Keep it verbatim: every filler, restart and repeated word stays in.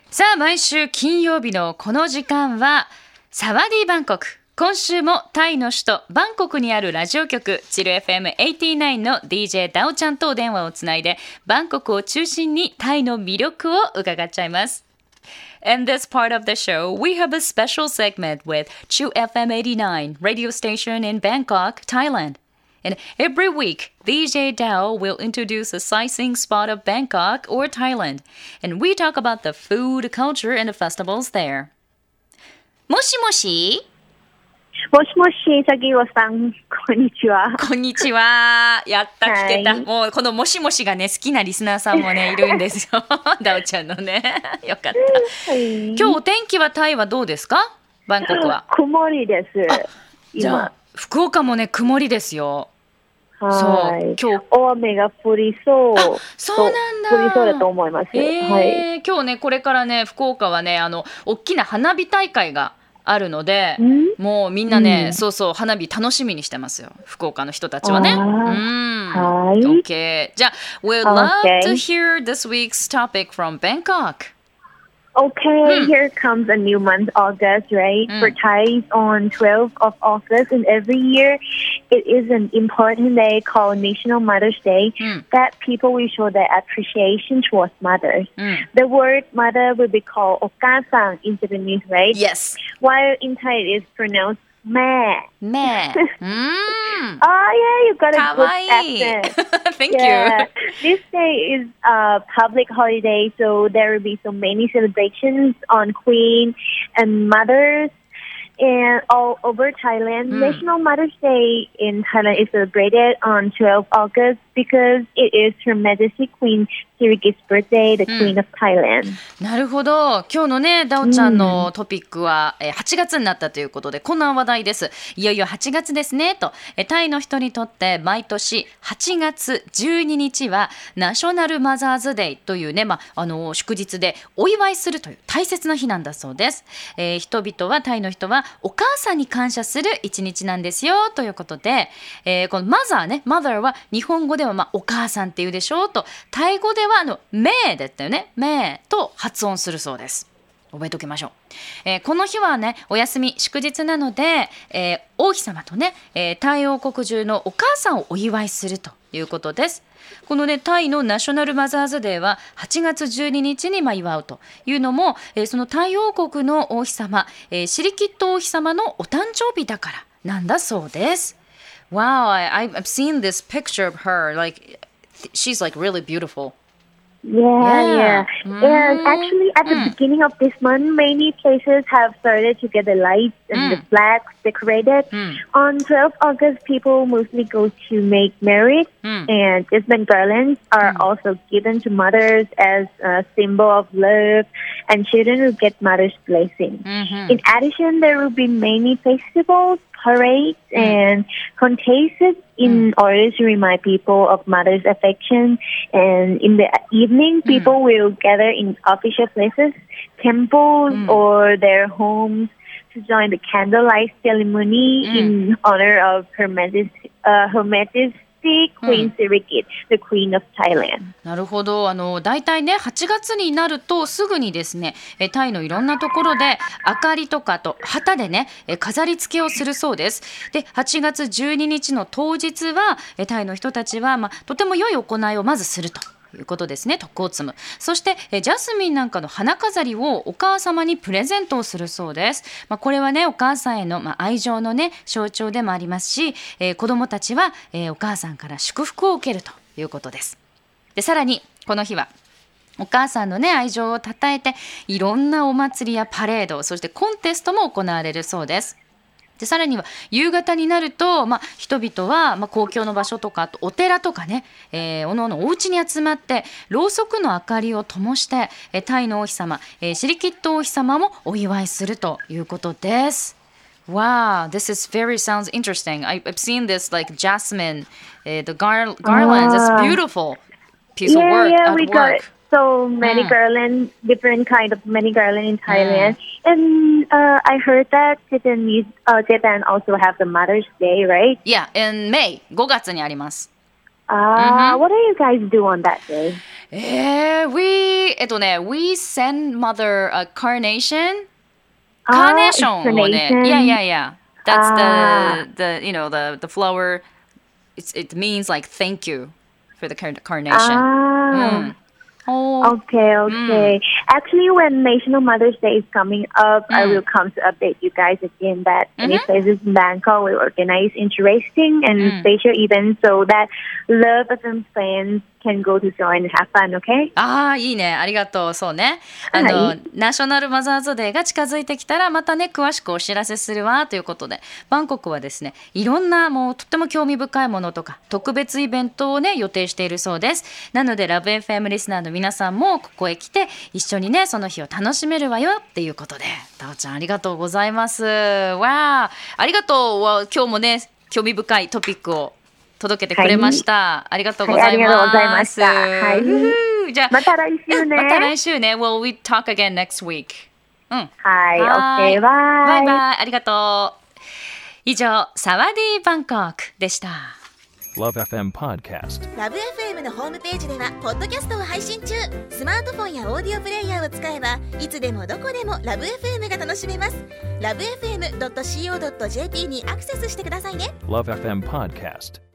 さあ毎週金曜日のこの時間はサワディバンコク。今週もタイの首都バンコクにあるラジオ局チル エフエムはちじゅうきゅう の ディージェー ダオちゃんと電話をつないでバンコクを中心にタイの魅力を伺っちゃいます。In this part of the show, we have a special segment with Chill エフエムはちじゅうきゅう radio station in Bangkok, Thailand.And every week, D J Dao will introduce a sightseeing spot of Bangkok or Thailand, and we talk about the food, culture, and the festivals there. もしもしもしもし、杉尾さん、こんにちは。 こんにちは。やった、聞けた。はい、もうこのもしもしがね、好きなリスナーさんもね、いるんですよ。ダオちゃんのね。よかった。はい、今日お天気はタイはどうですか？バンコクは。 曇りです。 じゃあ福岡もね、曇りですよ。 はい。今日大雨が降りそう。 そうなんだ。 降りそうだと思います。 えーはい、 今日ね、これからね、福岡はね、あの大きな花火大会があるので、もうみんなね、うん、そうそう花火楽しみにしてますよ。福岡の人たちはね。うん。 はい。 OK。じゃあ、we'd love to hear this week's topic from Bangkok.Okay, hmm. here comes a new month, August, right? Hmm. For Thais on twelfth of August, and every year it is an important day called National Mother's Day hmm. that people will show their appreciation towards mothers. Hmm. The word mother will be called Okasang in Japanese, right? Yes. While in Thai it is pronounced meh. Meh. mm. Oh, yeah, you got a Kawaii. good accent. Thank yeah. you. This day is a public holiday, so there will be so many celebrations on Queen and mothers and all over Thailand. Mm. National Mother's Day in Thailand is celebrated on twelfth of August because it is Her Majesty Queen Sirikit's birthday, the Queen of Thailand. なるほど。今日のね、ダオちゃんのトピックは、うん、はちがつになったということで、こんな話題です。いよいよはちがつですねと。タイの人にとって毎年はちがつじゅうににちはナショナルマザーズデイというね、まあ、あの祝日でお祝いするという大切な日なんだそうです。えー、人々はタイの人はお母さんに感謝する一日なんですよということで、えー、このマザーね、マザーは日本語ではまあお母さんっていうでしょうと、タイ語ではあのメーだったよね、メーと発音するそうです。覚えておきましょう。えー、この日はね、お休み祝日なので、えー、王妃様とね、えー、タイ王国中のお母さんをお祝いするということです。このね、タイのナショナルマザーズデーははちがつじゅうににちにまあ祝うというのも、えー、そのタイ王国の王妃様、えー、シリキット王妃様のお誕生日だからなんだそうです。Wow, I, I've seen this picture of her. Like, she's like really beautiful. Yeah, yeah. yeah. Mm. And actually, at the mm. beginning of this month, many places have started to get the lights and mm. the flags decorated. Mm. On twelfth of August, people mostly go to make merry, mm. and jasmine garlands are mm. also given to mothers as a symbol of love, and children will get mother's blessing. Mm-hmm. In addition, there will be many festivals, parades, mm. and contests in mm. order to remind people of mother's affection. And in the evening, people mm. will gather in official places, temples, mm. or their homes to join the candlelight ceremony mm. in honor of Her Majesty, uh, Her Majesty.Queen Sirikit, the Queen of Thailand. なるほど。あのだいたいねはちがつになるとすぐにですね、タイのいろんなところで明かりとかと旗でね飾り付けをするそうです。ではちがつじゅうににちの当日はタイの人たちは、まあ、とても良い行いをまずするということですね。徳を積む。そしてジャスミンなんかの花飾りをお母様にプレゼントをするそうです。まあ、これはねお母さんへの、まあ、愛情のね象徴でもありますし、えー、子どもたちは、えー、お母さんから祝福を受けるということです。でさらにこの日はお母さんのね愛情をたたえていろんなお祭りやパレード、そしてコンテストも行われるそうです。でさらには夕方になると、まあ、人々は、まあ、公共の場所とかあとお寺とかね、えー、おのおのお家に集まってろうそくの明かりを灯して、えー、タイの王妃様、えー、シリキット王妃様もお祝いするということです。Wow, this is very sounds interesting. I, I've seen this like jasmine, uh, the gar- garlands. It's beautiful piece yeah, of work yeah, at we work. Got so many mm. garlands, different kind of many garlands in Thailand. Mm. And uh, I heard that Japan, uh, Japan also have the Mother's Day, right? Yeah, in May, ごがつにあります。 Uh, mm-hmm. What do you guys do on that day? えー、we えっとね we send mother a carnation カーネーションをね yeah yeah yeah that's the the you know the the flower it's, it means like thank you for the carnation ah. mm.Oh. Okay, okay. Mm. Actually, when National Mother's Day is coming up, mm. I will come to update you guys again that mm-hmm. many places in Bangkok will organize interesting and mm. special events so that Love エフエム fans can go to join and have fun, okay? ああ、いいね。ありがとう。そうね。あの、はい、ナショナルマザーズデーが近づいてきたらまたね、詳しくお知らせするわということで、バンコクはですね、いろんなもうとっても興味深いものとか特別イベントをね、予定しているそうです。なので、ラブ エフエム リスナーの皆さんもここへ来て一緒にね、その日を楽しめるわよっていうことで、タオちゃんありがとうございます。わあ、ありがとう。今日もね、興味深いトピックを届けてくれました、はい、ありがとうございます、はい、ありがとうございました、はい、じゃあまた来週ねまた来週ね Well, we talk again next week、うん、 はい、 はい OK バイバイバイありがとう以上サワディーバンコクでした Love エフエム Podcast Love エフエム のホームページではポッドキャストを配信中スマートフォンやオーディオプレイヤーを使えばいつでもどこでも Love エフエム が楽しめます ラブエフエムドットシーオードットジェーピー にアクセスしてくださいね Love エフエム Podcast